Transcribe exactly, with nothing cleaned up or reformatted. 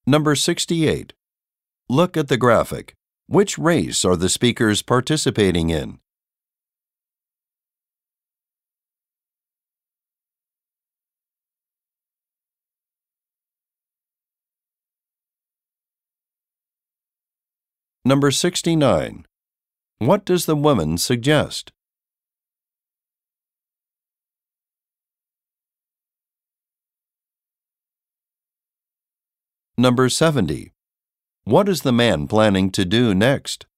Number sixty-eight. Look at the graphic. Which race are the speakers participating in? Number sixty-nine. What does the woman suggest? Number seventy. What is the man planning to do next?